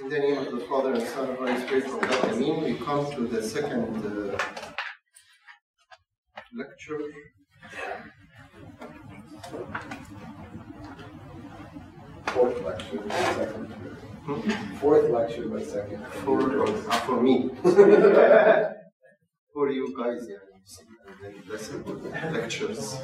In the name of the Father and Son and Holy Spirit, Amen. We come to the second lecture. Fourth lecture, but second. Fourth lecture, but second. For me. For you guys, and then listen to the lectures.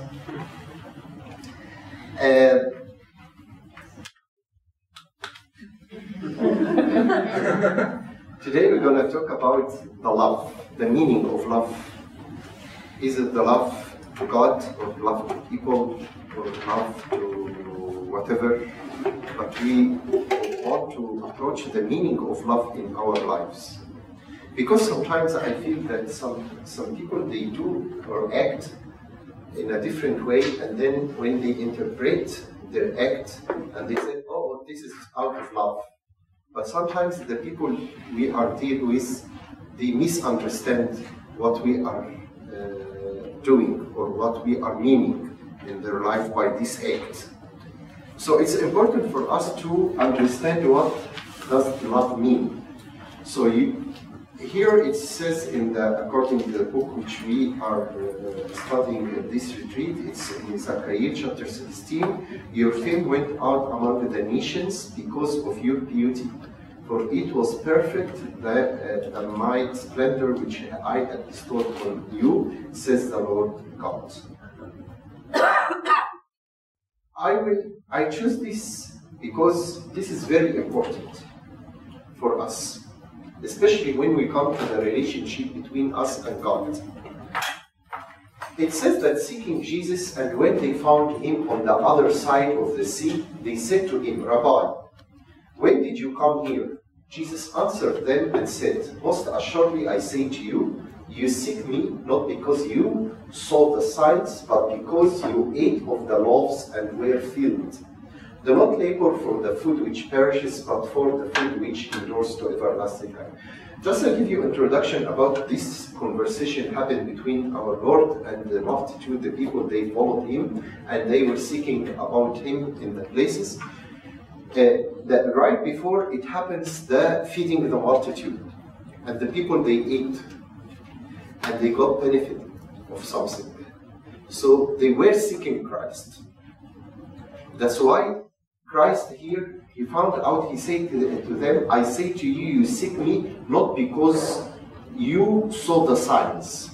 Today we're going to talk about the love, the meaning of love. Is it the love to God, or love to people, or love to whatever? But we want to approach the meaning of love in our lives. Because sometimes I feel that some people, they do or act in a different way, and then when they interpret their act, and they say, oh, this is out of love. But sometimes the people we are dealing with, they misunderstand what we are doing or what we are meaning in their life by this act. So it's important for us to understand what does love mean. So here it says according to the book which we are studying in this retreat, it's in Zechariah chapter 16, your fame went out among the nations because of your beauty. For it was perfect, the might splendor which I had bestowed on you, says the Lord God. I choose this because this is very important for us, especially when we come to the relationship between us and God. It says that seeking Jesus, and when they found him on the other side of the sea, they said to him, Rabbi, when did you come here? Jesus answered them and said, most assuredly I say to you, you seek me not because you saw the signs, but because you ate of the loaves and were filled. Do not labor for the food which perishes, but for the food which endures to everlasting life. Just to give you introduction about this conversation happened between our Lord and the multitude, the people, they followed him, and they were seeking about him in the places. Right before it happens, the feeding the multitude, and the people, they ate, and they got benefit of something. So they were seeking Christ. That's why Christ here, he found out, he said to them, I say to you, you seek me not because you saw the signs.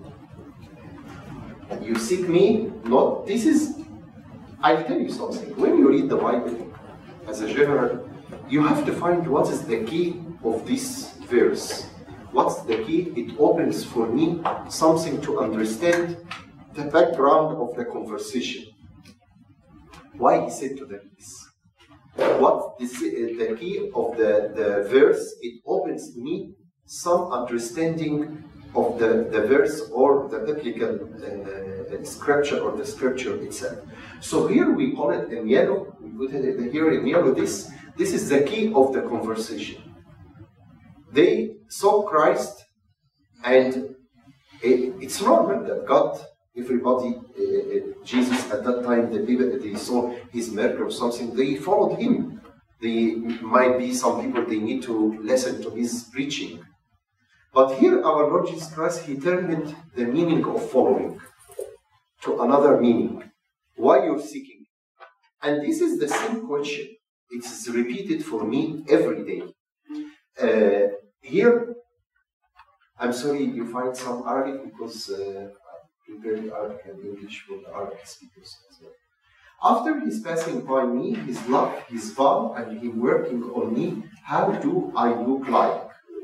You seek me not, I'll tell you something. When you read the Bible, as a general, you have to find what is the key of this verse. What's the key? It opens for me something to understand the background of the conversation. Why he said to them this? What is the key of the verse? It opens me some understanding of the verse or the biblical scripture or the scripture itself. So here we call it in yellow, we put it here in yellow, this is the key of the conversation. They saw Christ, and it's normal that God, everybody, Jesus at that time, the people, they saw his miracle or something, they followed him. They might be some people, they need to listen to his preaching. But here our Lord Jesus Christ, he turned the meaning of following to another meaning. Why you're seeking? And this is the same question. It's repeated for me every day. Here, I'm sorry you find some Arabic because I prepared Arabic and English for the Arabic speakers as well. After he's passing by me, his love, his vow, and him working on me, how do I look like?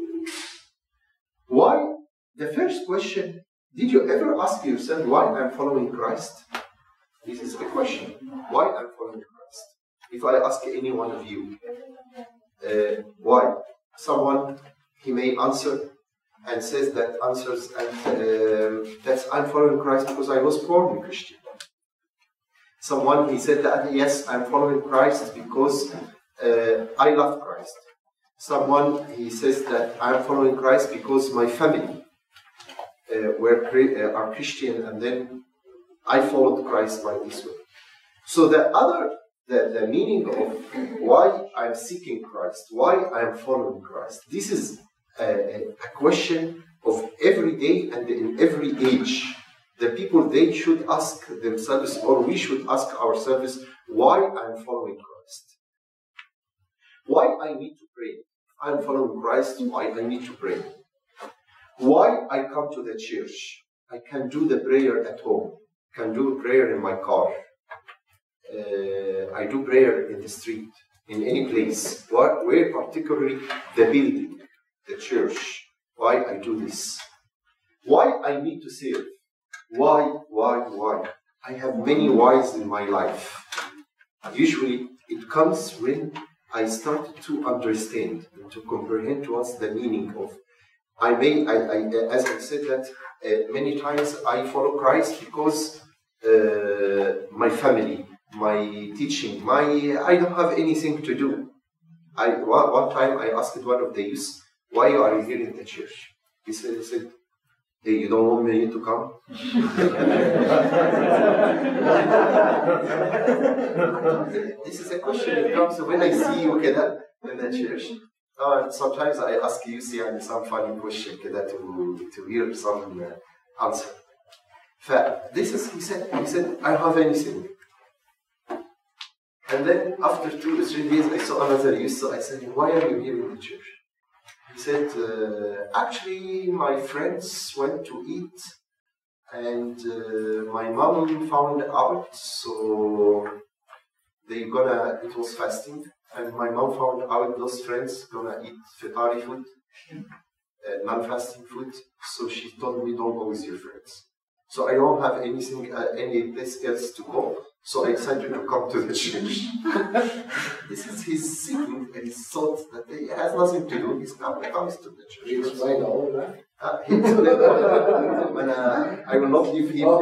Why? The first question, did you ever ask yourself why I'm following Christ? This is the question. Why I'm following Christ? If I ask any one of you, why? Someone, he may answer and says that answers, and that's I'm following Christ because I was born a Christian. Someone, he said that, yes, I'm following Christ because I love Christ. Someone, he says that I'm following Christ because my family are Christian, and then I followed Christ by this way. So the the meaning of why I'm seeking Christ, why I'm following Christ. This is a question of every day and in every age. The people, they should ask themselves, or we should ask ourselves, why I'm following Christ. Why I need to pray. I'm following Christ, why I need to pray. Why I come to the church. I can do the prayer at home. I can do prayer in my car. I do prayer in the street, in any place. Where particularly the building, the church. Why I do this. Why I need to serve. Why? I have many whys in my life. Usually it comes when I started to understand and to comprehend what's the meaning of. As I said that many times I follow Christ because my family, my teaching, I don't have anything to do. One time I asked one of the youths, why are you here in the church? He said, hey, you don't want me to come? This is a question that comes when I see you in the church. Sometimes I ask you some funny question to hear some answer. He said, I don't have anything. And then after 2 or 3 days, I saw another youth, so I said, why are you here in the church? He said, actually, my friends went to eat, and my mom found out, so it was fasting, and my mom found out those friends gonna eat fitari food, non-fasting food, so she told me, don't go with your friends. So I don't have any place else to go. So I decided to come to the church. This is his seeking and his thought that he has nothing to do. He comes to the church. He explained all of that? I will not leave him.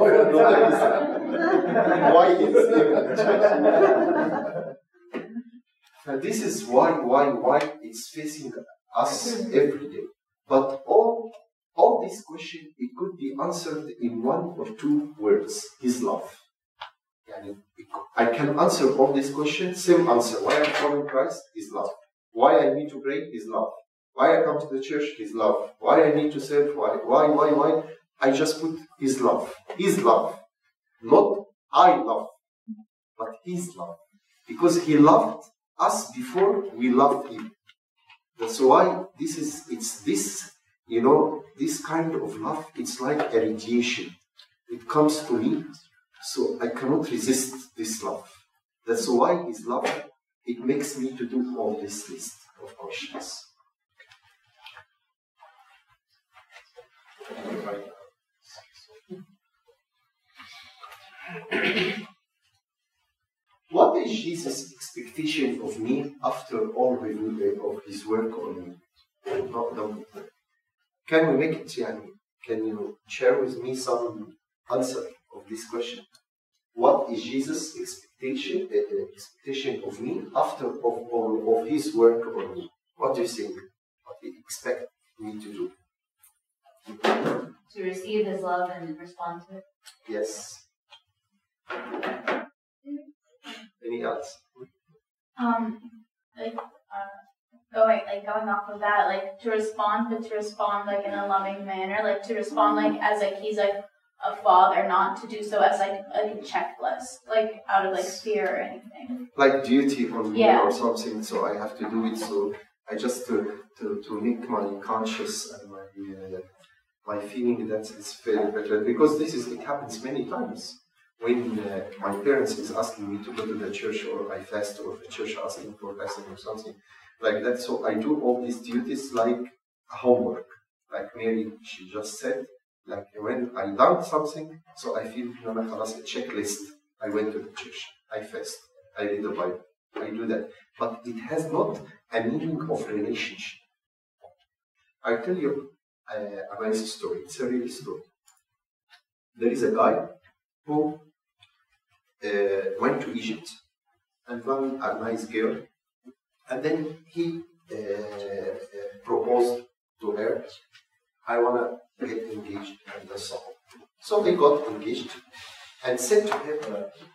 Why he's here in the church. And this is why it's facing us every day. But all these questions, it could be answered in 1 or 2 words. His love. I can answer all these questions, same answer. Why I'm following Christ? His love. Why I need to pray? His love. Why I come to the church? His love. Why I need to serve? Why? I just put His love. His love. Not I love, but His love. Because He loved us before we loved Him. That's why this kind of love, it's like a radiation. It comes to me. So I cannot resist this love. That's why His love, it makes me to do all this list of questions. What is Jesus' expectation of me after all of His work on me? Can we make it, can you share with me some answer of this question? What is Jesus' expectation of me after of His work on me? What do you think? What do you expect me to do? To receive His love and respond to it. Yes. Any else? Going off of that, to respond in a loving manner, to respond as He's a father, not to do so as a checklist, out of fear or anything. Like duty on me or something, so I have to do it. So I just to make my conscience and my feeling that it's very better, because it happens many times. When my parents is asking me to go to the church, or I fast, or the church asking for fasting or something like that, so I do all these duties like homework. Like Mary, she just said, when I done something, so I feel a checklist. I went to the church, I fast, I read the Bible, I do that. But it has not a meaning of relationship. I tell you a nice story. It's a real story. There is a guy who went to Egypt and found a nice girl, and then he proposed to her, I want to get engaged, and that's all. So they got engaged and said to her,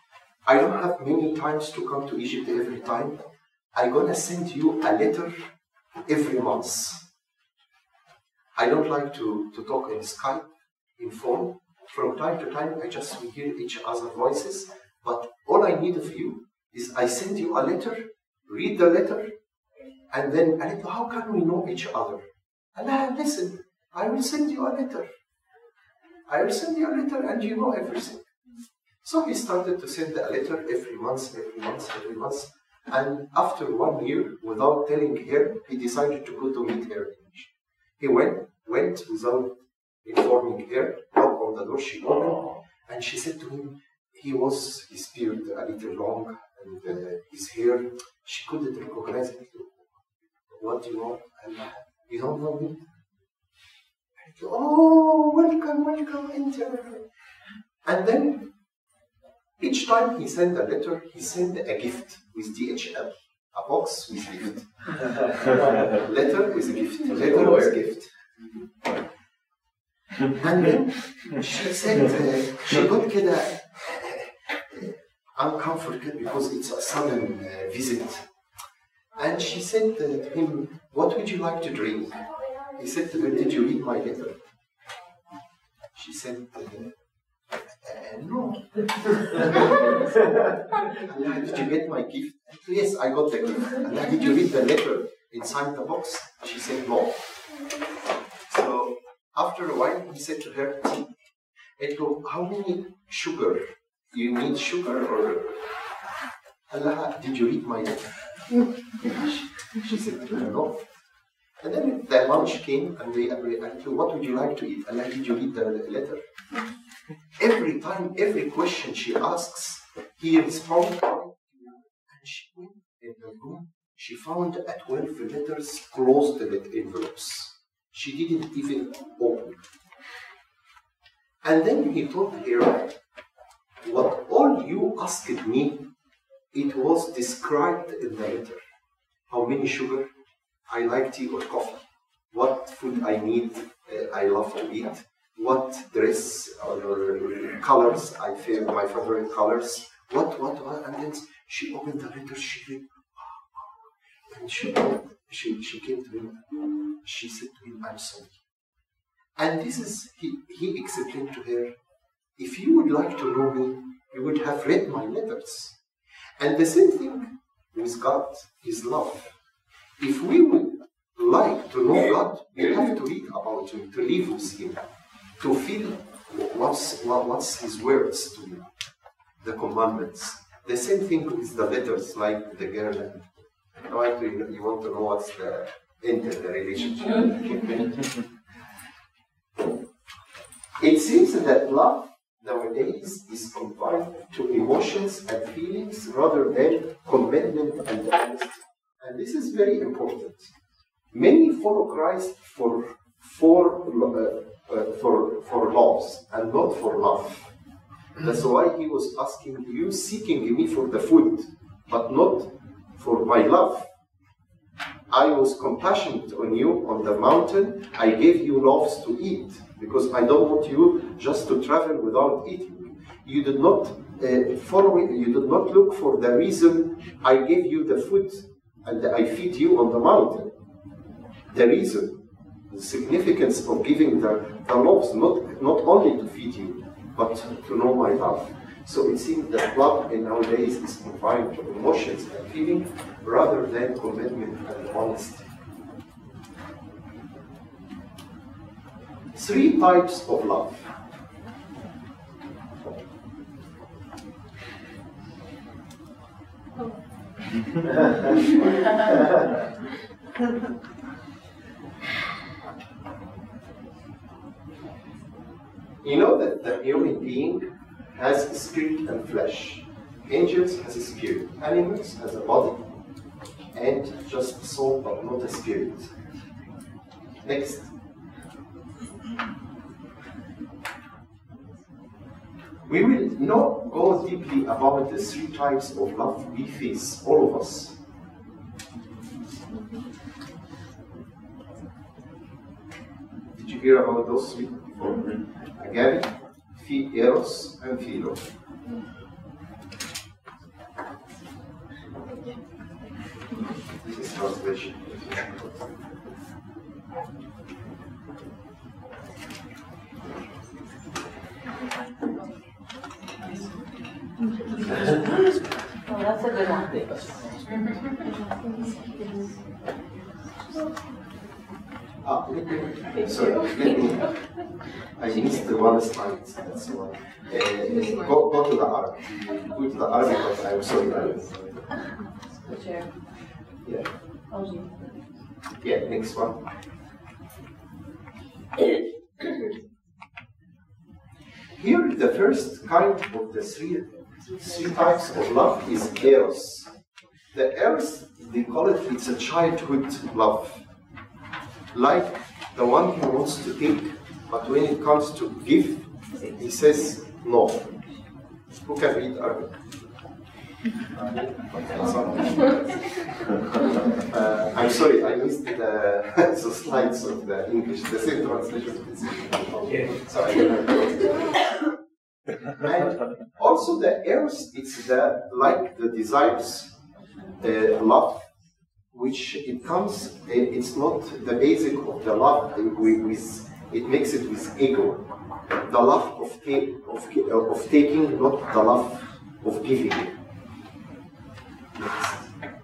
I don't have many times to come to Egypt every time. I'm gonna send you a letter every month. I don't like to talk in Skype, in phone. From time to time, I just hear each other's voices. But all I need of you is I send you a letter, read the letter, and then I said, how can we know each other? And I listen, I will send you a letter. I will send you a letter and you know everything. So he started to send a letter every month. And after 1 year, without telling her, he decided to go to meet her. He went without informing her, knocked on the door, she opened, and she said to him, his beard a little long, and his hair, she couldn't recognize him. What do you want? And you don't know me? And oh, welcome, enter. And then, each time he sent a letter, he sent a gift with DHL. A box with gift. Letter with gift. Letter with gift. And then she said, she got kinda uncomfortable because it's a sudden visit. And she said to him, what would you like to drink? He said to her, did you read my letter? She said, no. Allah, did you get my gift? Yes, I got the gift. Allah, did you read the letter inside the box? She said, no. So after a while, he said to her, Edgo, how many sugar? You need sugar or? Allah, did you read my letter? She said, no. And then the lunch came and they asked, what would you like to eat? Allah, did you read the letter? Every time, every question she asks, he responds. And she went in the room, she found 12 letters closed with envelopes. She didn't even open. And then he told her, what all you asked me, it was described in the letter. How many sugar? I like tea or coffee. What food I need, I love to eat. What dress or colors I feel my favorite colors. What, and then she opened the letter, she read, and she came to him, she said to him, I'm sorry. And this is, he explained to her, if you would like to know me, you would have read my letters. And the same thing with God, His love. If we would like to know God, we have to read about Him, to live with Him, to feel what's His words to you, the commandments. The same thing with the letters, like the girl. You want to know what's the end of the relationship. It seems that love nowadays is confined to emotions and feelings rather than commitment and honesty. And this is very important. Many follow Christ for laws and not for love. That's why he was asking you, seeking me for the food, but not for my love. I was compassionate on you on the mountain. I gave you loaves to eat because I don't want you just to travel without eating. You did not follow it. You did not look for the reason I gave you the food and I feed you on the mountain. The reason, the significance of giving the loaves, not only to feed you, but to know my love. So it seems that love in nowadays is confined to emotions and feelings rather than commitment and honesty. 3 types of love. You know that the human being has a spirit and flesh. Angels has a spirit. Animals has a body. And just soul, but not a spirit. Next. We will not go deeply about the 3 types of love we face, all of us. Did you hear about those 3 before? Agape, Eros, and Philo. Well, that's a good one. I missed the one slide. That's one. Go to the Arabic. Go to the Arabic, but I'm sorry. The chair. Yeah. Oh, gee. Yeah, next one. Here, the first kind of the three types of love is eros. The eros, they call it, it's a childhood love. Like the one who wants to take, but when it comes to give, he says no. Who can read Arabic? I'm sorry, I missed the slides of the English, the same translation. So I don't know. And also the eros, it's like the desires, love, which it comes, it's not the basic of the love, it makes it with ego. The love of taking, not the love of giving. Next.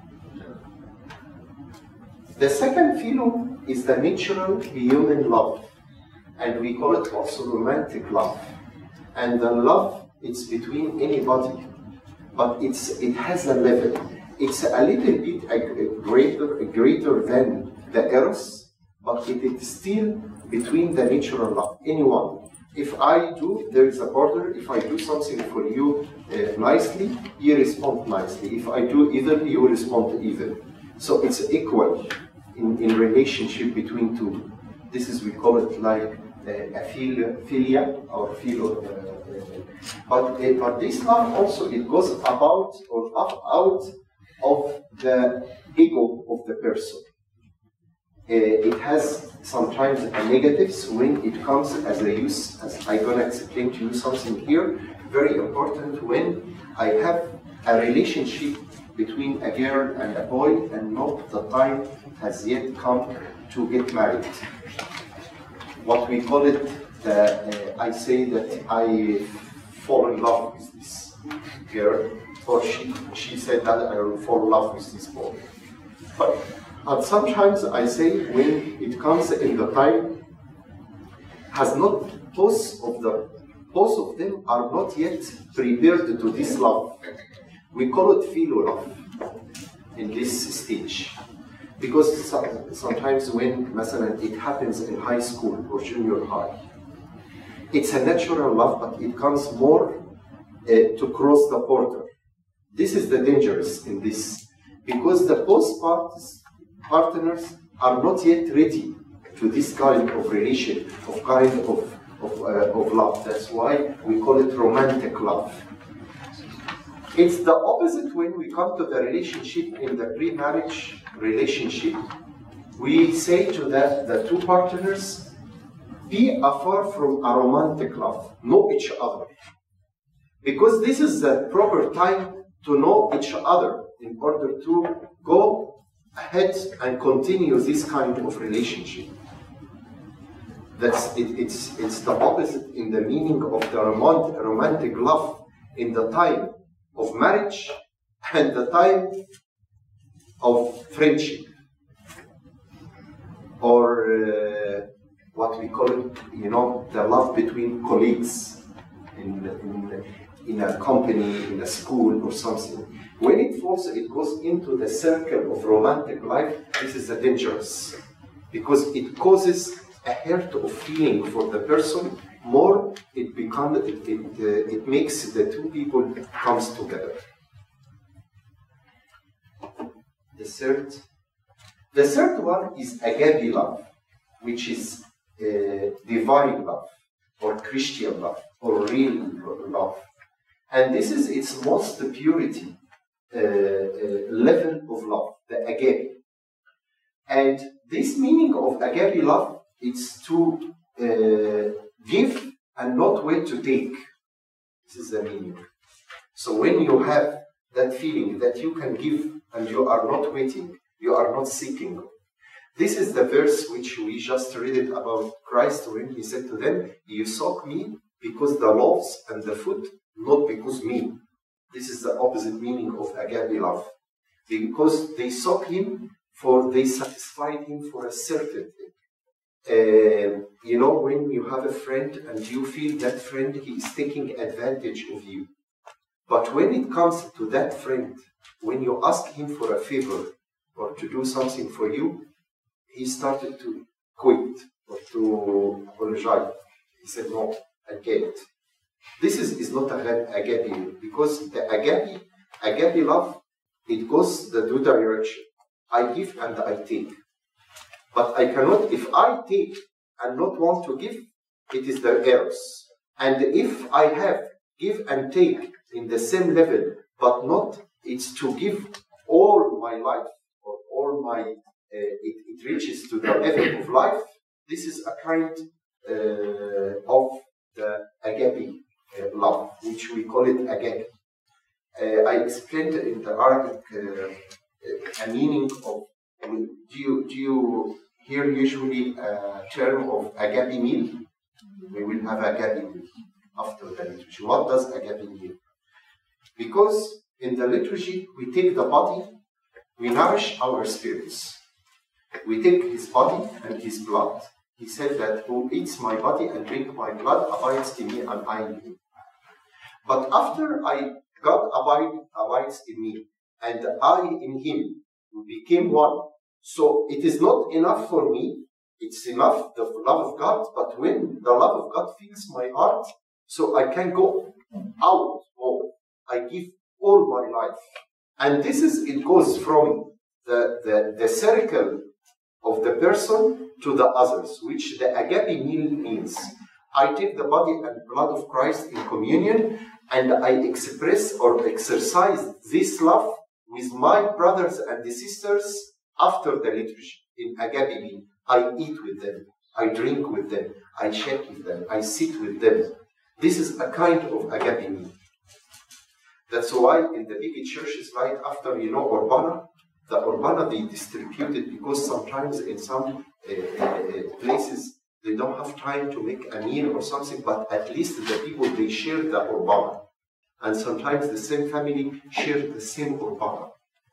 The second philo is the natural human love, and we call it also romantic love. And the love, it's between anybody, but it has a level. It's a little bit greater than the eros, but it is still between the natural love. Anyone. If I do, there is a border. If I do something for you nicely, you respond nicely. If I do either, you respond either. So it's equal in relationship between two. This is, we call it like a philia or philo. But this love also, it goes about or out of the ego of the person. It has sometimes a negatives when it comes as a use, as I'm going to explain to you something here, very important when I have a relationship between a girl and a boy and not the time has yet come to get married. What we call it, I say that I fall in love with this girl, or she said that I will fall in love with this boy. But sometimes I say when it comes in the time, has not both of them are not yet prepared to this love. We call it philo love in this stage. Because sometimes when it happens in high school or junior high, it's a natural love, but it comes more to cross the border. This is the dangerous in this, because the both partners are not yet ready to this kind of relation, of love. That's why we call it romantic love. It's the opposite when we come to the relationship in the pre-marriage relationship. We say to the two partners, be afar from a romantic love, know each other. Because this is the proper time to know each other in order to go ahead and continue this kind of relationship. It's the opposite in the meaning of the romantic love in the time of marriage and the time of friendship, or what we call it, the love between colleagues in a company, in a school or something. When it goes into the circle of romantic life, this is dangerous, because it causes a hurt of feeling for the person. More it makes the two people comes together. The third one is agape love, which is divine love, or Christian love, or real love. And this is its most purity level of love, the agape. And this meaning of agape love, it's to give and not wait to take. This is the meaning. So when you have that feeling that you can give and you are not waiting, you are not seeking. This is the verse which we just read it about Christ when he said to them, you sought me because the loaves and the food, not because me. This is the opposite meaning of agape love. Because they sought him, for they satisfied him for a certain thing. You know, when you have a friend and you feel that friend, he is taking advantage of you. But when it comes to that friend, when you ask him for a favor or to do something for you, he started to quit or to apologize. He said, no, I can't. This is not agape, because the agape love, it goes the two direction. I give and I take. But I cannot, if I take and not want to give, it is the errors. And if I have give and take in the same level, but not, it's to give all my life, or all my, it reaches to the level of life, this is a kind of the agape love, which we call it agape. I explained in the Arabic a meaning of, do you hear usually a term of agape meal? We will have agape meal after the liturgy. What does agape mean? Because in the liturgy, we take the body, we nourish our spirits. We take his body and his blood. He said that who eats my body and drink my blood abides in me and I in him. But after God abides in me and I in him, we became one. So it is not enough for me. It's enough, the love of God. But when the love of God fills my heart, so I can go out more. I give all my life. And this is, it goes from the circle of the person to the others, which the agape meal means. I take the body and blood of Christ in communion, and I express or exercise this love with my brothers and the sisters after the liturgy in agape meal. I eat with them, I drink with them, I share with them, I sit with them. This is a kind of agape meal. That's why in the big churches right after, Urbana, the Urbana they distributed, because sometimes in some places they don't have time to make a meal or something, but at least the people, they share the Urbana. And sometimes the same family share the same Urbana.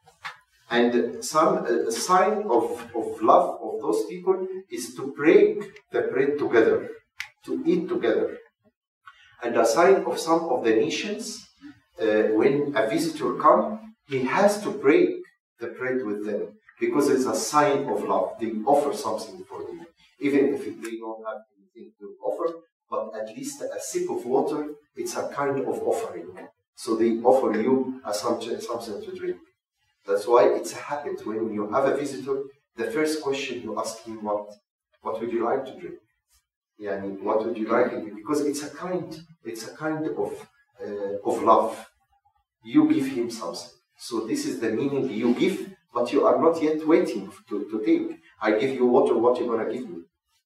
And some sign of love of those people is to break the bread together, to eat together. And a sign of some of the nations, when a visitor comes, he has to break the bread with them, because it's a sign of love. They offer something for you, even if they don't have anything to offer, but at least a sip of water, it's a kind of offering. So they offer you something to drink. That's why it's a habit. When you have a visitor, the first question you ask him, what would you like to drink? Yeah, what would you like to drink? Because it's a kind of love. You give him something. So this is the meaning, you give, but you are not yet waiting to take. I give you water, what you gonna give me?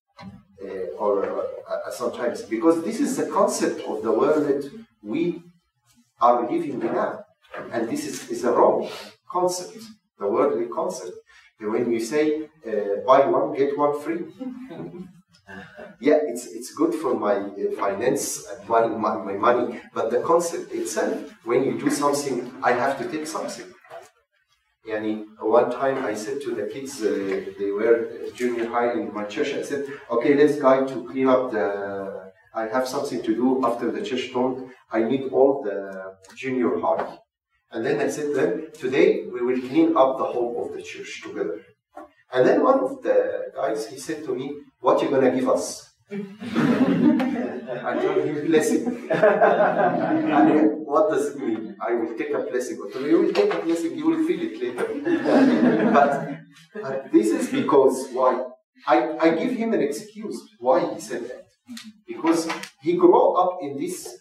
Sometimes, because this is the concept of the world that we are living in now. And this is a wrong concept, the worldly concept. And when you say, buy one, get one free. Yeah, it's good for my finance and my money, but the concept itself, when you do something, I have to take something. One time I said to the kids, they were junior high in my church, I said, okay, let's go to clean up I have something to do after the church talk. I need all the junior high. And then I said to them, today we will clean up the whole of the church together. And then one of the guys, he said to me, what are you going to give us? I told him blessing. What does it mean? I will take a blessing. You will take a blessing, you will feel it later. But this is because why? I give him an excuse why he said that. Because he grew up in this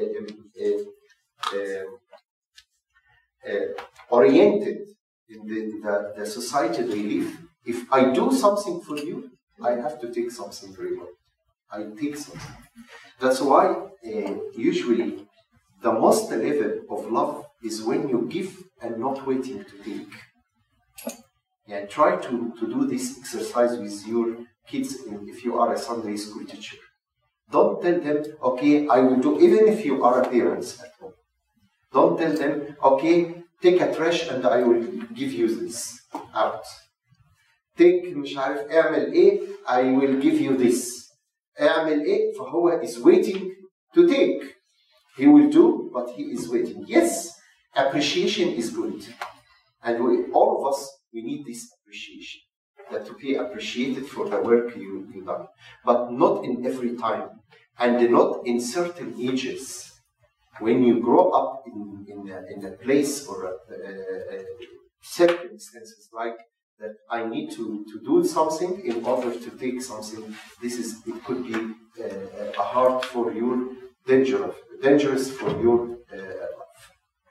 oriented in the society they live. If I do something for you, I have to take something reward. I take something. That's why usually the most level of love is when you give and not waiting to take. Yeah, try to do this exercise with your kids if you are a Sunday school teacher. Don't tell them, okay, I will do, even if you are a parent at home. Don't tell them, okay, take a trash and I will give you this out. Take مش عارف اعمل ايه, I will give you this. اعمل ايه, فهو is waiting to take. He will do, but he is waiting. Yes, appreciation is good. And all of us, we need this appreciation. That to be appreciated for the work you done. But not in every time. And not in certain ages. When you grow up in a place or circumstances like that, I need to do something in order to take something. It could be a hard for your dangerous for your life.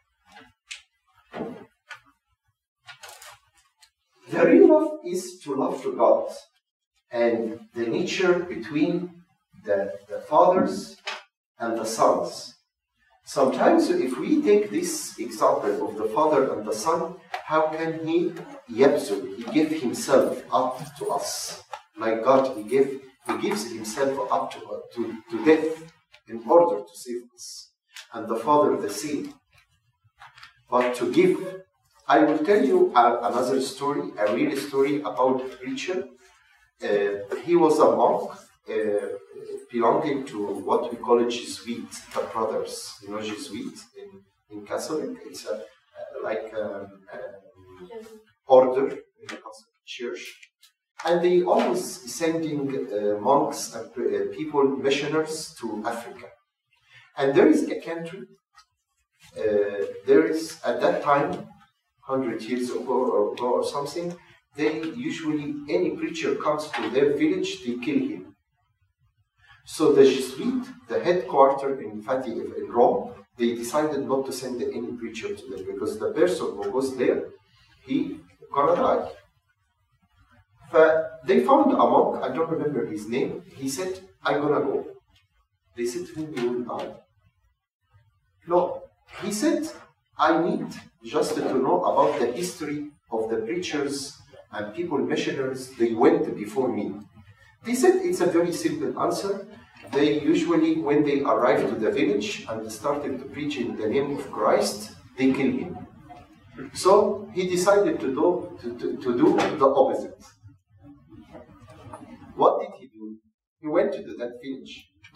The real love is to love God, and the nature between the fathers and the sons. Sometimes if we take this example of the father and the son, how can he yabzul, he give himself up to us. Like God, he gives himself up to death in order to save us. And the father the same. But to give, I will tell you another story, a real story about a preacher. He was a monk belonging to what we call a Jesuit, the brothers. You know Jesuit in Catholic? It's order in the Catholic Church. And they always sending monks and people, missioners to Africa. And there is a country, there is at that time, 100 years ago or something, they usually, any preacher comes to their village, they kill him. So the Jesuit, the headquarters in Rome, they decided not to send any preacher to them because the person who goes there, he gonna die. They found a monk, I don't remember his name, he said, I'm gonna go. They said to him, you will die. No, he said, I need just to know about the history of the preachers and people, missionaries, they went before me. They said it's a very simple answer. They usually, when they arrive to the village and started to preach in the name of Christ, they kill him. So he decided to do the opposite. What did he do? He went to that village.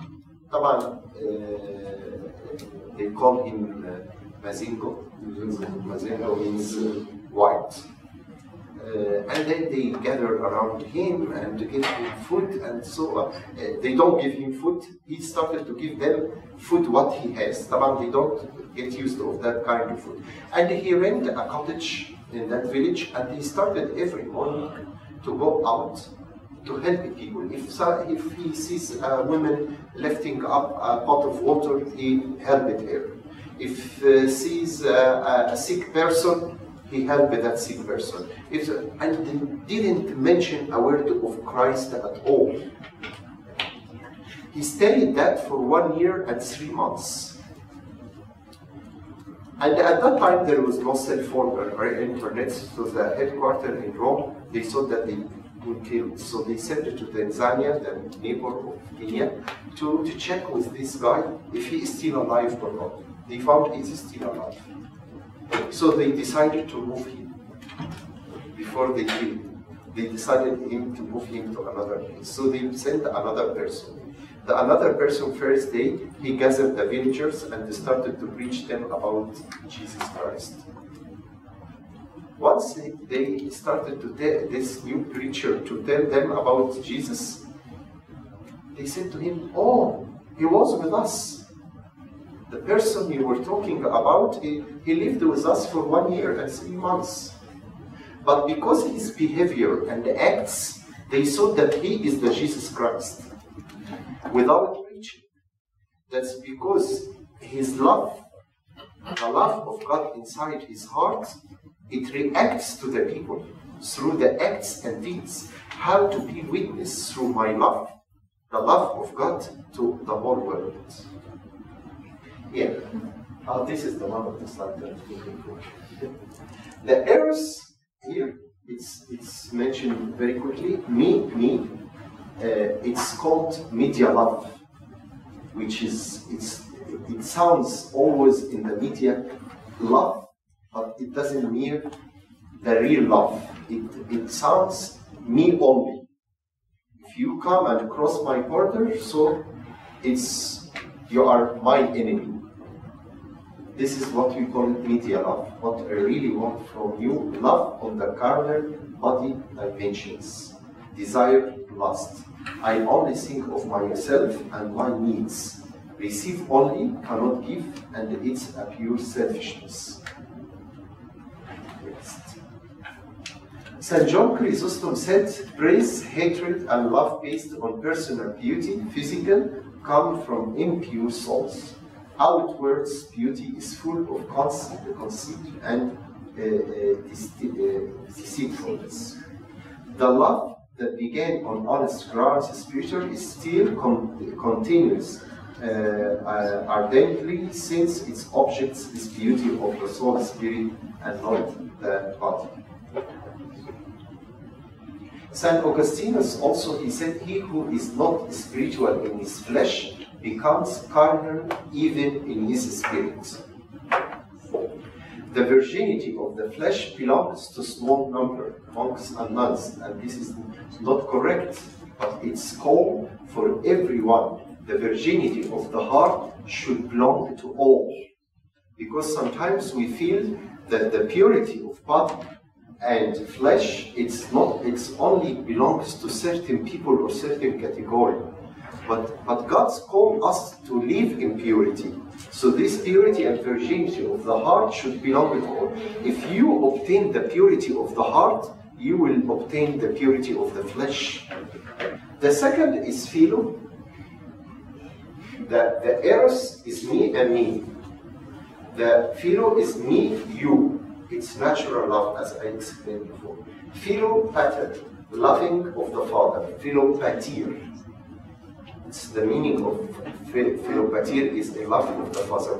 They call him Mazingo. Mazingo means white. And then they gather around him and give him food, and so they don't give him food. He started to give them food what he has. They don't get used to that kind of food. And he rented a cottage in that village, and he started every morning to go out to help people. If he sees a woman lifting up a pot of water, he helped her. If sees a sick person, he helped that sick person. And didn't mention a word of Christ at all. He stayed that for 1 year and 3 months. And at that time, there was no cell phone or internet, so the headquarters in Rome, they thought that they would kill. So they sent it to Tanzania, the neighbor of Kenya, to check with this guy if he is still alive or not. They found he is still alive. So they decided to move him. Before they killed him, they decided to move him to another place. So they sent another person. The another person, first day, he gathered the villagers and started to preach them about Jesus Christ. Once they started to tell this new preacher to tell them about Jesus, they said to him, oh, he was with us. The person you were talking about, he lived with us for 1 year and 3 months. But because his behavior and acts, they saw that he is the Jesus Christ. Without preaching. That's because his love, the love of God inside his heart, it reacts to the people through the acts and deeds. How to be witness through my love, the love of God to the whole world. Yeah. This is the one of the slide that I'm looking for. The earth here it's mentioned very quickly. Me. It's called media love, which is it sounds always in the media love, but it doesn't mean the real love. It sounds me only. If you come and cross my border, so you are my enemy. This is what we call media love. What I really want from you, love on the carnal body dimensions. Desire, lust. I only think of myself and my needs. Receive only, cannot give, and it's a pure selfishness. Next. St. John Chrysostom said, praise, hatred, and love based on personal beauty, physical, come from impure souls. Outwards beauty is full of conceit and deceitfulness. The love that began on honest grounds spiritual is still continuous ardently, since its object is beauty of the soul, spirit, and not the body. St. Augustinus also, he said, he who is not spiritual in his flesh becomes carnal even in his spirit. The virginity of the flesh belongs to small number, monks and nuns, and this is not correct, but it's called for everyone. The virginity of the heart should belong to all, because sometimes we feel that the purity of body and flesh, it's only belongs to certain people or certain category. But God's called us to live in purity. So this purity and virginity of the heart should belong to all. If you obtain the purity of the heart, you will obtain the purity of the flesh. The second is philo. The eros is me and me. The philo is me, you. It's natural love, as I explained before. Philopater, loving of the Father. Philopatir. It's the meaning of philopatir is a love of the Father.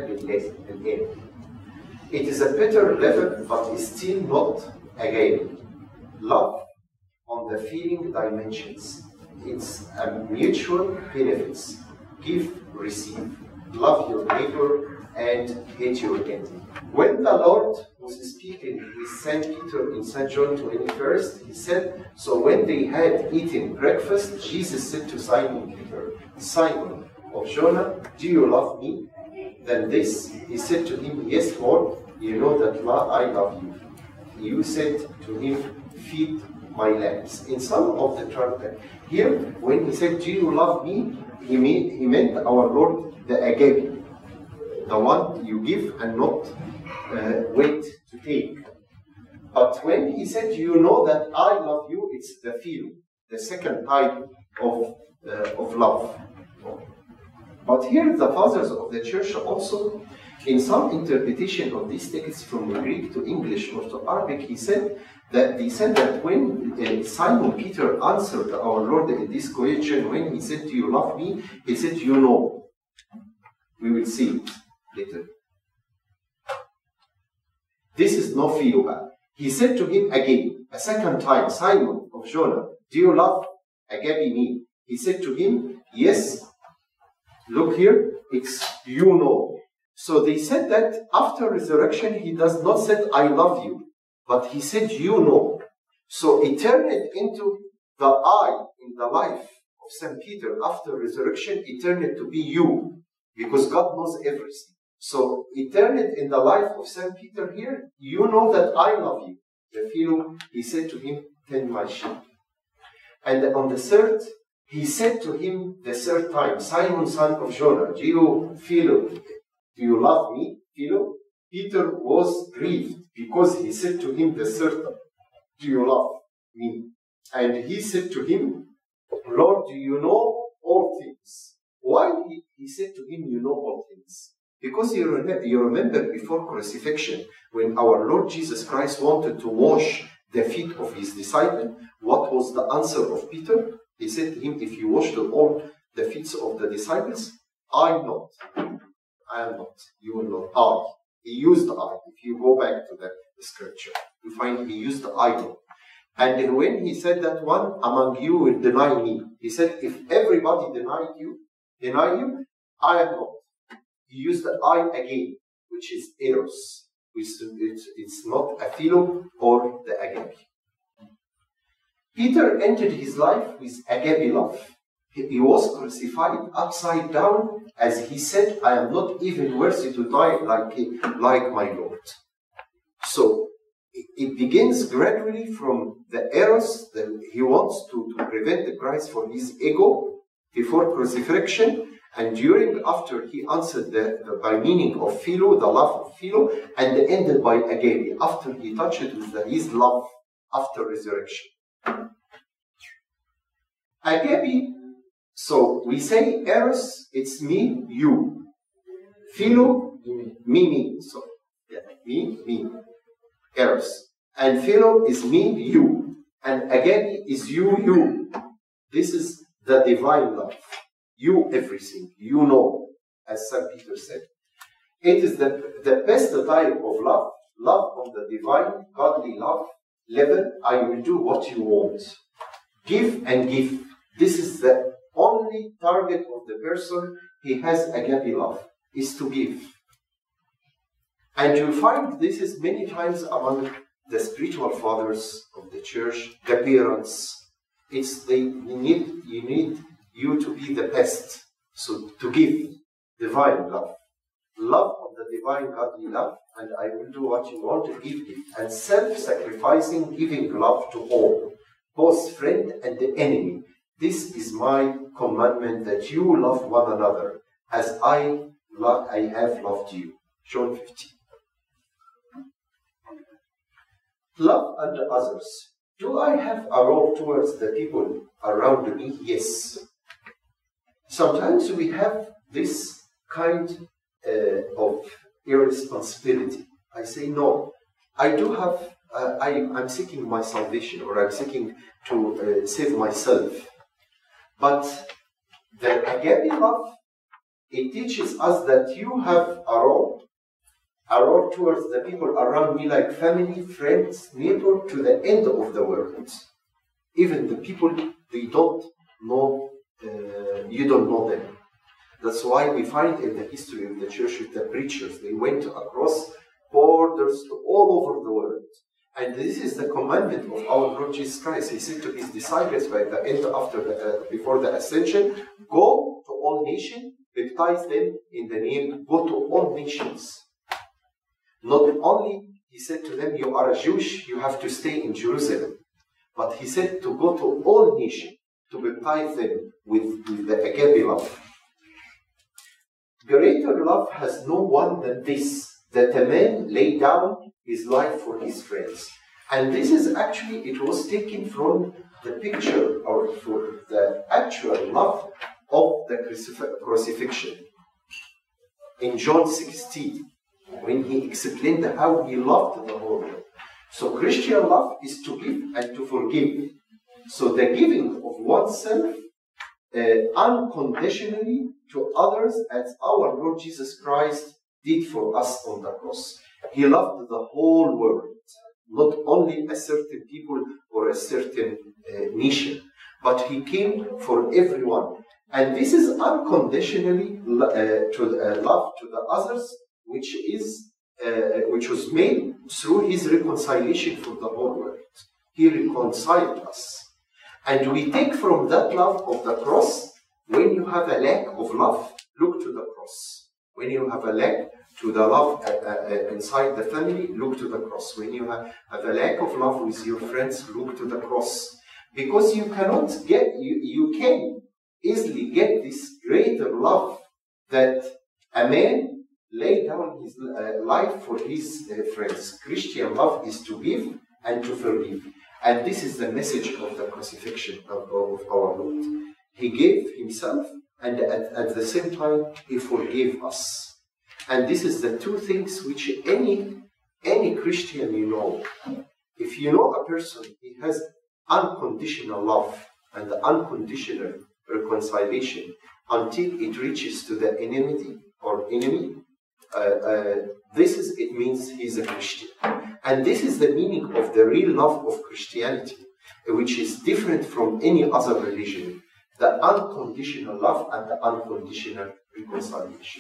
It is a better level, but it's still not again love on the feeling dimensions. It's a mutual benefits. Give, receive. Love your neighbor and hate your enemy. When the Lord was speaking with St. Peter in St. John 21st, he said, so when they had eaten breakfast, Jesus said to Simon Peter, Simon of Jonah, do you love me? Then this, he said to him, yes, Lord, you know that I love you. You said to him, feed my lambs. In some of the translations, here, when he said, do you love me? He meant our Lord, the agape, the one you give and not wait to take. But when he said, you know that I love you, it's the feel, the second type of love. But here the fathers of the church also, in some interpretation of these texts from Greek to English or to Arabic, they said that when Simon Peter answered our Lord in this question, when he said, do you love me? He said, you know. We will see it later. This is no philo. He said to him again, a second time, Simon of Jonah, do you love agape me? He said to him, yes. Look here, it's you know. So they said that after resurrection, he does not say, I love you, but he said, you know. So it turned into the I in the life of St. Peter after resurrection, it turned to be you, because God knows everything. So it turned in the life of St. Peter here, you know that I love you. The philo, he said to him, tend my sheep. And on the third, he said to him the third time, Simon, son of Jonah, do you love me, Philo? Peter was grieved because he said to him the third time, do you love me? And he said to him, Lord, do you know all things? Why he said to him, you know all things? Because you remember before crucifixion, when our Lord Jesus Christ wanted to wash the feet of his disciple, what was the answer of Peter? He said to him, if you wash all the feet of the disciples, I am not. You will not. I. He used I. If you go back to the scripture, you find he used I not. And when he said that, one among you will deny me. He said, if everybody deny you, I am not. He used the I again, which is eros. It's not a philo or the agape. Peter entered his life with agape love. He was crucified upside down, as he said, I am not even worthy to die like my Lord. So it begins gradually from the eros that he wants to prevent the Christ from his ego before crucifixion, and after he answered by meaning of philo, the love of philo, and ended by agape, after he touched it with his love after resurrection. Agape, so we say eros, it's me, you. Philo, me. So, yeah, me. Eros. And philo is me, you. And agape is you. This is the divine love. You everything, you know, as St. Peter said. It is the best type of love on the divine, godly love level. I will do what you want. Give and give. This is the only target of the person he has agape love, is to give. And you find this is many times among the spiritual fathers of the church, the parents. You need you to be the best. So to give divine love. Love of the divine godly love, and I will do what you want to give. And self-sacrificing, giving love to all, both friend and the enemy. This is my commandment, that you love one another as I have loved you. John 15. Love unto others. Do I have a role towards the people around me? Yes. Sometimes we have this kind of irresponsibility. I say, no, I do have, I'm seeking my salvation, or I'm seeking to save myself. But the agape love, it teaches us that you have a role towards the people around me, like family, friends, neighbor, to the end of the world. Even the people they don't know, you don't know them. That's why we find in the history of the church with the preachers, they went across borders to all over the world. And this is the commandment of our Lord Jesus Christ. He said to his disciples by the end before the ascension, go to all nations, baptize them in the name, go to all nations. Not only, he said to them, you are a Jewish, you have to stay in Jerusalem. But he said to go to all nations, to baptize them with the agape love. Greater love has no one than this, that a man lay down his life for his friends. And this is actually, it was taken from the picture, or for the actual love of the crucifixion. In John 16, when he explained how he loved the whole world. So Christian love is to give and to forgive. So the giving of oneself unconditionally to others, as our Lord Jesus Christ did for us on the cross. He loved the whole world, not only a certain people or a certain nation, but he came for everyone. And this is unconditionally love to the others, which was made through his reconciliation for the whole world. He reconciled us. And we take from that love of the cross, when you have a lack of love, look to the cross. When you have a lack to the love inside the family, look to the cross. When you have a lack of love with your friends, look to the cross. Because you cannot get, you can easily get this greater love that a man lay down his life for his friends. Christian love is to give and to forgive. And this is the message of the crucifixion of our Lord. He gave himself, and at the same time, he forgave us. And this is the two things which any Christian you know. If you know a person, he has unconditional love and unconditional reconciliation until it reaches to the enemy. It means he's a Christian. And this is the meaning of the real love of Christianity. which is different from any other religion, the unconditional love and the unconditional reconciliation.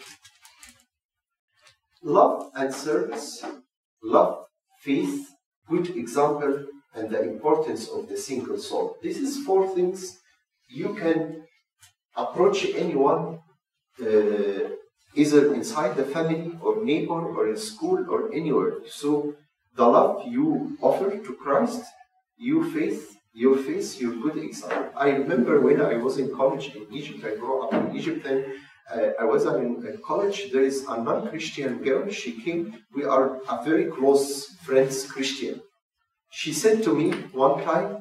Love and service, love, faith, good example, and the importance of the single soul. This is 4 things you can approach anyone, either inside the family or neighbor or in school or anywhere. So the love you offer to Christ, your faith, your good example. I remember when I was in college in Egypt, I grew up in Egypt, and I was in college. There is a non-Christian girl. She came. We are a very close friends, Christian. She said to me one time,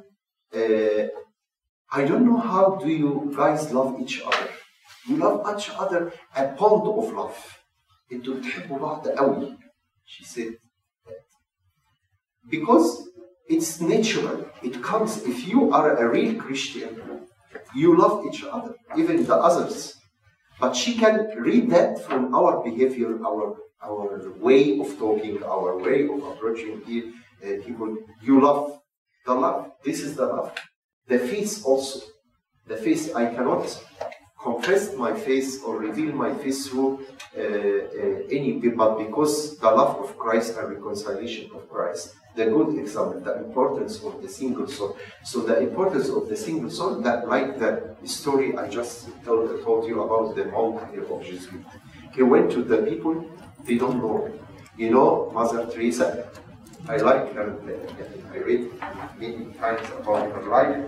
I don't know how do you guys love each other. You love each other a bond of love. انتوا بتحبوا بعض قوي. She said that. Because it's natural. It comes. If you are a real Christian, you love each other, even the others. But she can read that from our behavior, our way of talking, our way of approaching people. You love the love. This is the love. The face also. The face, I cannot confess my face or reveal my face through any people, but because the love of Christ and reconciliation of Christ, the good example, the importance of the single soul. So the importance of the single soul, that like the story I just told you about the monk of Jesuit. He went to the people, they don't know. You know, Mother Teresa, I like her, I read many times about her life.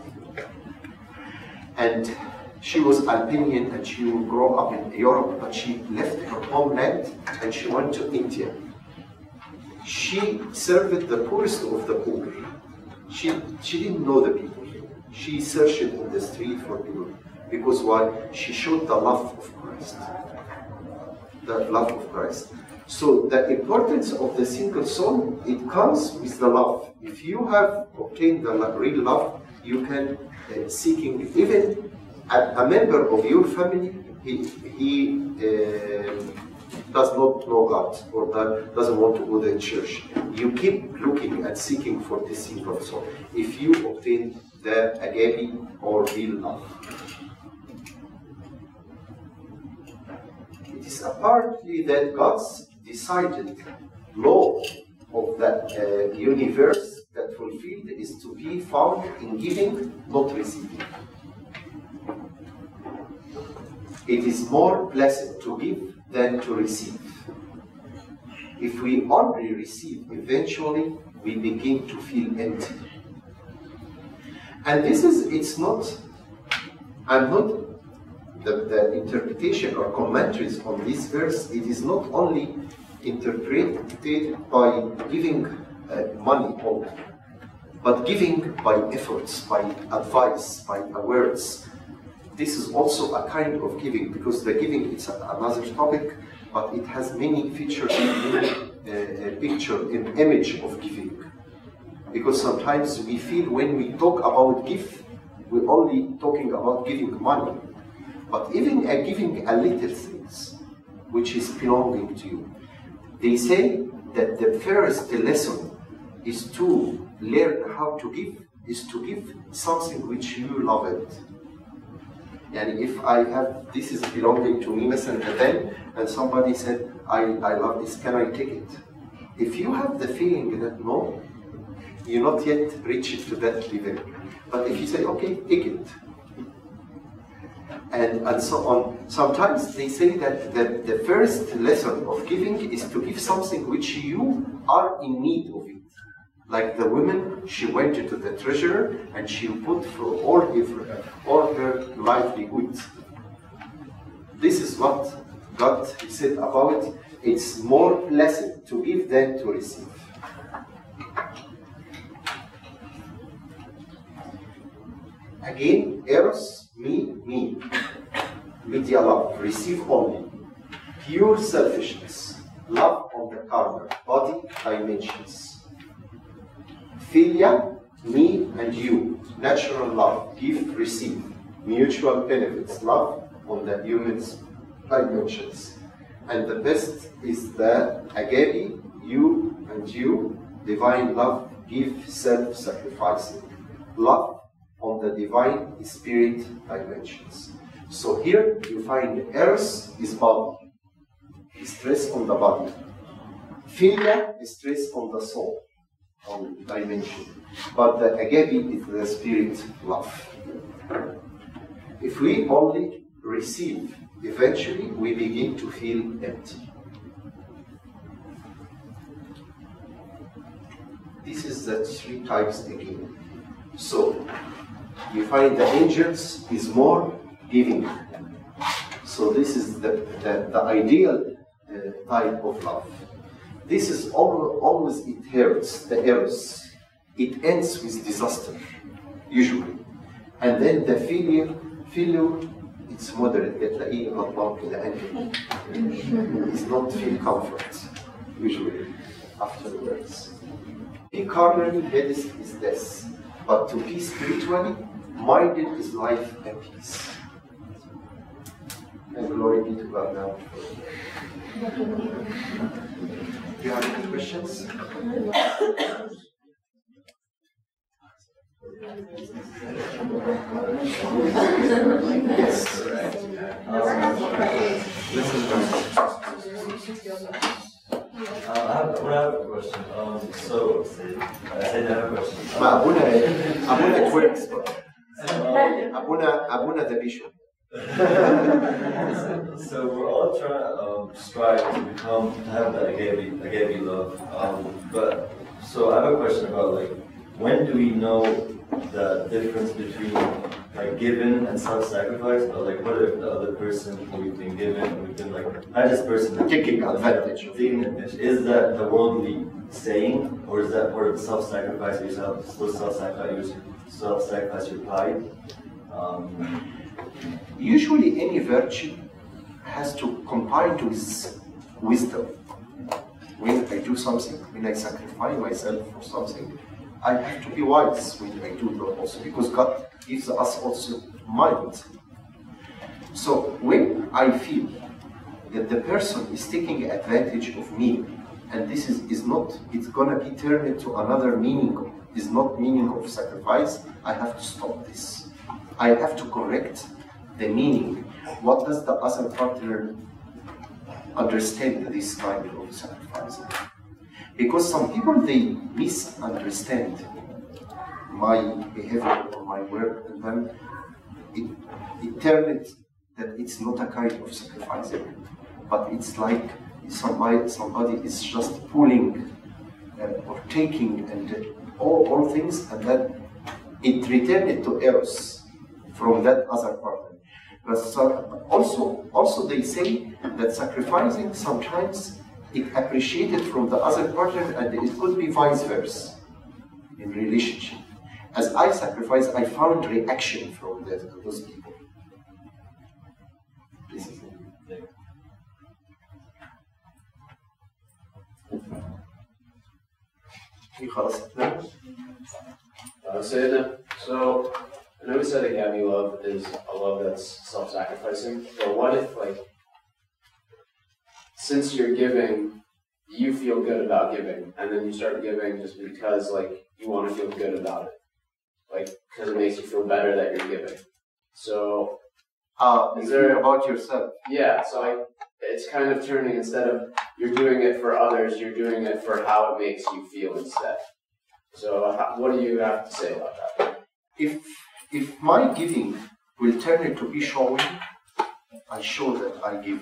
And she was Albanian and she grew up in Europe, but she left her homeland and she went to India. She served the poorest of the poor. She didn't know the people. She searched in the street for people. Because why? She showed the love of Christ. The love of Christ. So the importance of the single soul, it comes with the love. If you have obtained the real love, you can seeking even a member of your family, he does not know God or doesn't want to go to the church. You keep looking and seeking for the single soul. If you obtain the agape or real love. It is apparently that God's decided law of the universe that fulfilled is to be found in giving, not receiving. It is more blessed to give than to receive. If we only receive, eventually we begin to feel empty. And this is, it's not, I'm not, the interpretation or commentaries on this verse, it is not only interpreted by giving money only, but giving by efforts, by advice, by words. This is also a kind of giving, because the giving is another topic, but it has many features, many picture, an image of giving. Because sometimes we feel when we talk about give, we're only talking about giving money. But even giving a little things, which is belonging to you. They say that the first lesson is to learn how to give, is to give something which you love it. And if I have, this is belonging to me, and somebody said, I love this, can I take it? If you have the feeling that no, you're not yet reached to that level. But if you say, okay, take it. And so on. Sometimes they say that the first lesson of giving is to give something which you are in need of it. Like the woman, she went to the treasurer and she put for all her livelihood. This is what God said about it. It's more blessed to give than to receive. Again, eros, me. Media love, receive only. Pure selfishness, love on the carnal, body dimensions. Philia, me and you, natural love, give, receive. Mutual benefits, love on the human's dimensions. And the best is the agape, you and you, divine love, give, self-sacrificing. love on the divine spirit dimensions. So here you find Eros is body, stress on the body. Philia is stress on the soul, on dimension. But the agape is the spirit love. If we only receive, eventually we begin to feel empty. This is the 3 types again. So you find the angels is more giving. So this is the ideal type of love. This is always it hurts, the Eros. It ends with disaster, usually. And then the filial, it's moderate, بتلاقيه غضبان كده angry. It's not feel comfort, usually, afterwards. Be carnally, Hades is death. But to be spiritually, minded is life and peace. And glory be to God now. Do you have any questions? Yes. I have a question. So, I said I have a question. Abuna twerks, Abuna the bishop. So we're all trying to strive to have that agape love. But so I have a question about like, when do we know the difference between like giving and self-sacrifice? Or like, what if the other person who we've been given, we've been like, not just person Taking advantage. Is that the worldly saying, or is that part of self-sacrifice yourself? Still self-sacrifice your pride? Usually any virtue has to combine with wisdom. When I do something, when I sacrifice myself for something, I have to be wise when I do that also, because God gives us also mind. So when I feel that the person is taking advantage of me, and this is not, it's gonna be turned into another meaning, is not meaning of sacrifice, I have to stop this. I have to correct the meaning. What does the other partner understand this kind of sacrifice? Because some people, they misunderstand my behavior or my work, and then it turns that it's not a kind of sacrifice, but it's like somebody is just pulling or taking and all things, and then it returned to Eros from that other partner. But also they say that sacrificing sometimes it appreciated from the other partner, and it could be vice versa in relationship. As I sacrifice, I found reaction from those people. Please. So, I know we said agape love is a love that's self-sacrificing, but what if, like, since you're giving, you feel good about giving, and then you start giving just because, like, you want to feel good about it, like, because it makes you feel better that you're giving. So, is there about yourself? Yeah, so it's kind of turning, instead of you're doing it for others, you're doing it for how it makes you feel instead. So, what do you have to say about that? If my giving will turn into be showing, I show that I give.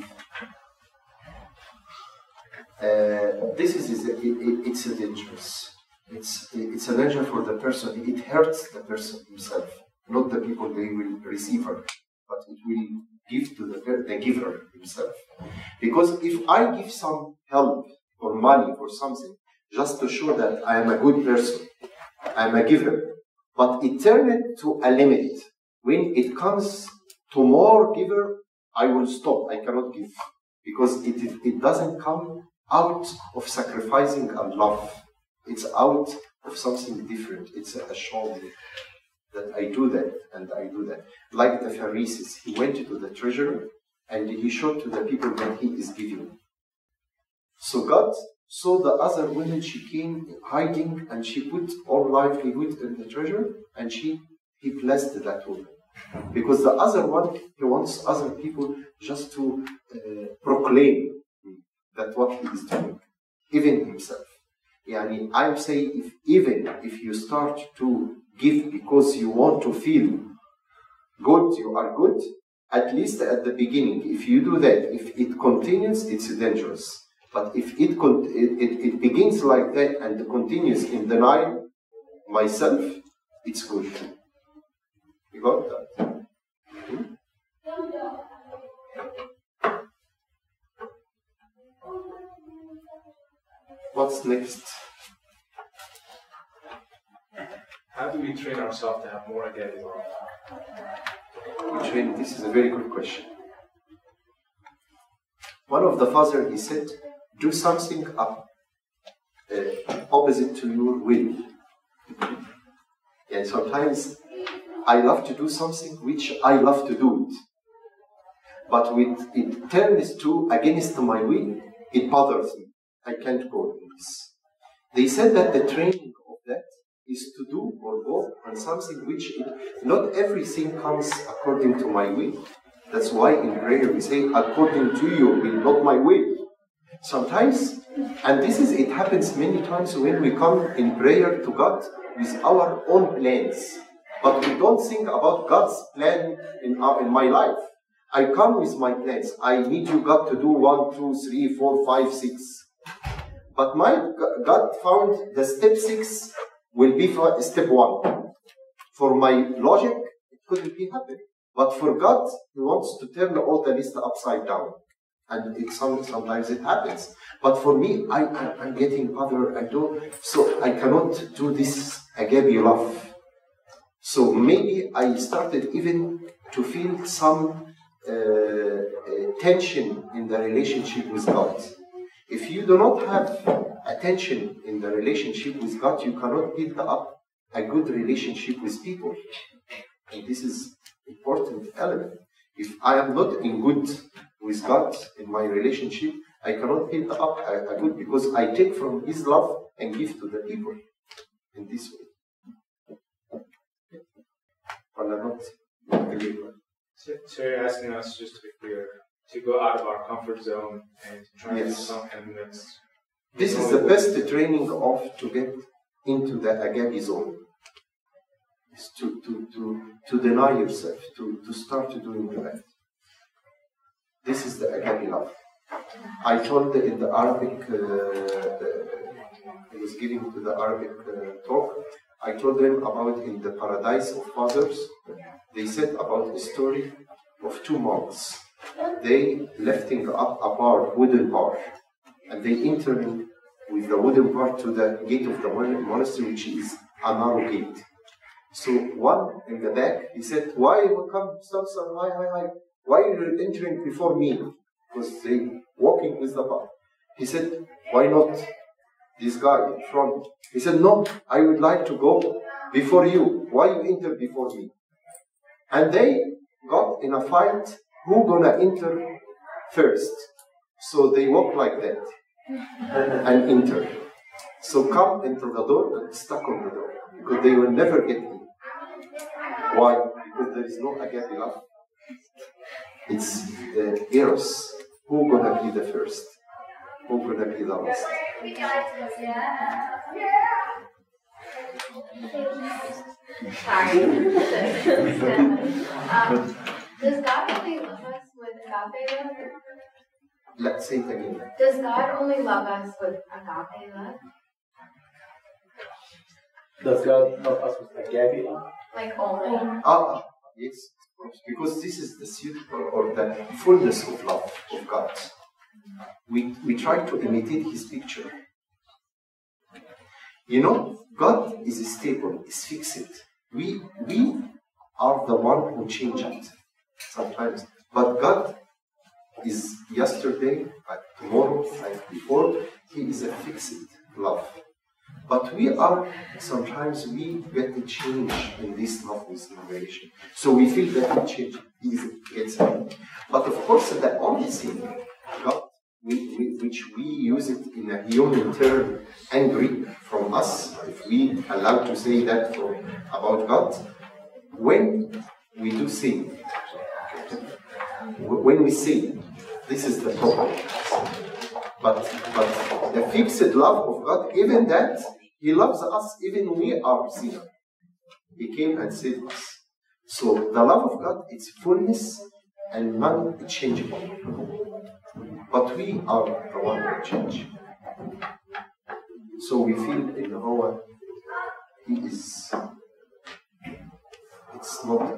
This is it's a dangerous. It's a danger for the person. It hurts the person himself, not the people they will receive her, but it will give to the giver himself. Because if I give some help or money for something, just to show that I am a good person, I am a giver, but it turned to a limit. When it comes to more giver, I will stop. I cannot give, because it doesn't come out of sacrificing and love. It's out of something different. It's a show that I do that and I do that. Like the Pharisees, he went to the treasurer and he showed to the people that he is giving. So God So the other woman, she came hiding and she put all livelihood in the treasure and he blessed that woman. Because the other one, he wants other people just to proclaim that what he is doing, even himself. Yani, I'm saying even if you start to give because you want to feel good, you are good, at least at the beginning. If you do that, if it continues, it's dangerous. But if it begins like that and continues in denial myself, it's good. You got that? What's next? How do we train ourselves to have more agape love? This is a very good question. One of the fathers, he said, do something opposite to your will. And sometimes I love to do something which I love to do it. But when it turns to against my will, it bothers me. I can't go in this. They said that the training of that is to do or go on something which not everything comes according to my will. That's why in prayer we say, according to your will, not my will. Sometimes, and it happens many times when we come in prayer to God with our own plans. But we don't think about God's plan in my life. I come with my plans. I need you, God, to do 1, 2, 3, 4, 5, 6. But my God found the step 6 will be for step 1. For my logic, it couldn't be happening. But for God, He wants to turn all the list upside down. And sometimes it happens. But for me, I'm getting bothered. So I cannot do this agape love. So maybe I started even to feel some tension in the relationship with God. If you do not have attention in the relationship with God, you cannot build up a good relationship with people. And this is an important element. If I am not in good with God in my relationship, I cannot build up a good, because I take from His love and give to the people in this way. So you're asking us, just to be clear, to go out of our comfort zone and try to do something that's... This is the best training to get into the agape zone. Is to deny yourself, to start doing that. This is the agape love. I told in the Arabic, I was giving to the Arabic talk, I told them about in the paradise of fathers, they said about a story of 2 monks. They lifting up a wooden bar, and they entering with the wooden bar to the gate of the monastery, which is a narrow gate. So one in the back, he said, why you come, stop, hi. Why are you entering before me? Because they walking with the bar. He said, why not this guy in front? He said, no, I would like to go before you. Why you enter before me? And they got in a fight, who gonna enter first? So they walk like that and enter. So come into the door and stuck on the door, because they will never get in. Why? Because there is no agape love. It's Eros. Who gonna be the first? Who gonna be the last? Sorry. Does God only love us with agape love? Let's say it again. Does God only love us with agape love? Does God love us with agape love? Like only? Yes. Because this is the suitable or the fullness of love of God. We try to imitate His picture. You know, God is stable, is fixed. We are the one who change it sometimes. But God is yesterday, tomorrow, and before. He is a fixed love. But sometimes we get a change in this love with revelation. So we feel that we change, He gets it. But of course, the only thing God which we use it in a human term, angry from us, if we allow to say that about God, when we do sin. When we sin, this is the problem. But the fixed love of God, even that, He loves us even we are sinners. He came and saved us. So the love of God, it's fullness and non-changeable. But we are the one who change. So we feel in our, He is, it's not.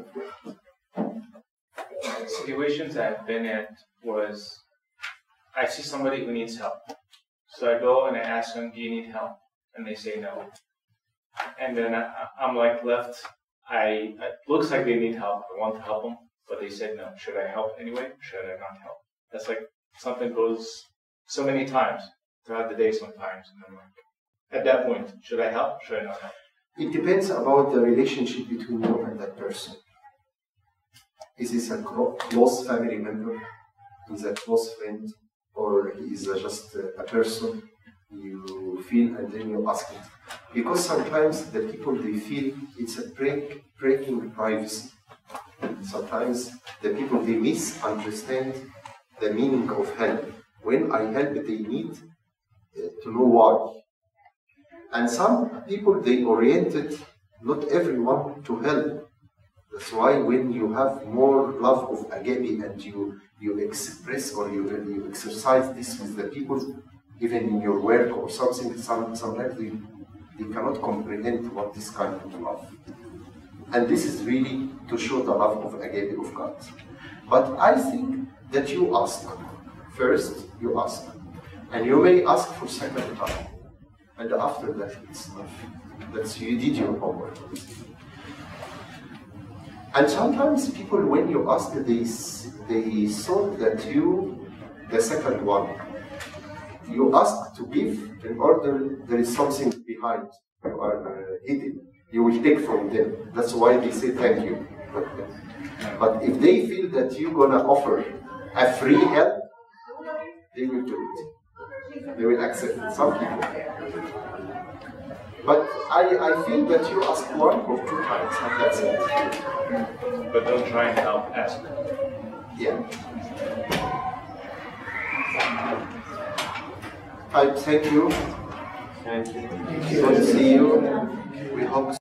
Situations I've been in was, I see somebody who needs help. So I go and I ask them, do you need help? And they say no. And then I'm like left, it looks like they need help. I want to help them, but they said no. Should I help anyway? Should I not help? That's like something goes so many times throughout the day sometimes. And I'm like, at that point, should I help? Should I not help? It depends about the relationship between you and that person. Is this a close family member? Is a close friend? Or is just a person you feel and then you ask it? Because sometimes the people, they feel it's a breaking privacy. Sometimes the people, they misunderstand the meaning of help. When I help, they need to know why. And some people, they oriented not everyone to help. That's why when you have more love of agape and you express or you exercise this with the people, even in your work or something, sometimes they cannot comprehend what this kind of love. And this is really to show the love of agape of God. But I think that you ask. First, you ask. And you may ask for second time. And after that, it's enough. That's you did your homework. And sometimes people, when you ask, they thought that you, the second one, you ask to give in order there is something behind. You are hidden. You will take from them. That's why they say thank you. But if they feel that you're gonna offer a free help, they will do it. They will accept it. Some people. But I feel that you ask one or two times, and that's it. But don't try and help, ask. Yeah. I thank you. Thank you. Good to see you. We hope